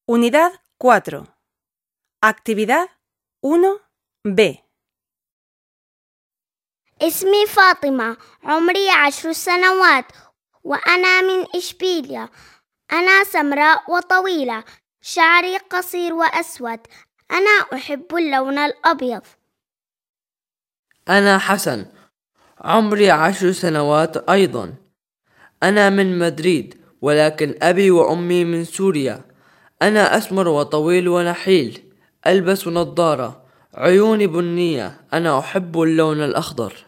Unidad 4. Actividad 1B. اسمي فاطمة، عمري 10 سنوات، وأنا من إشبيلية. أنا سمراء وطويلة، شعري قصير وأسود. أنا أحب اللون الأبيض. أنا حسن، عمري 10 سنوات أيضا. أنا من مدريد، ولكن أبي وأمي من سوريا. أنا أسمر وطويل ونحيل، ألبس نظارة، عيوني بنية. أنا أحب اللون الأخضر.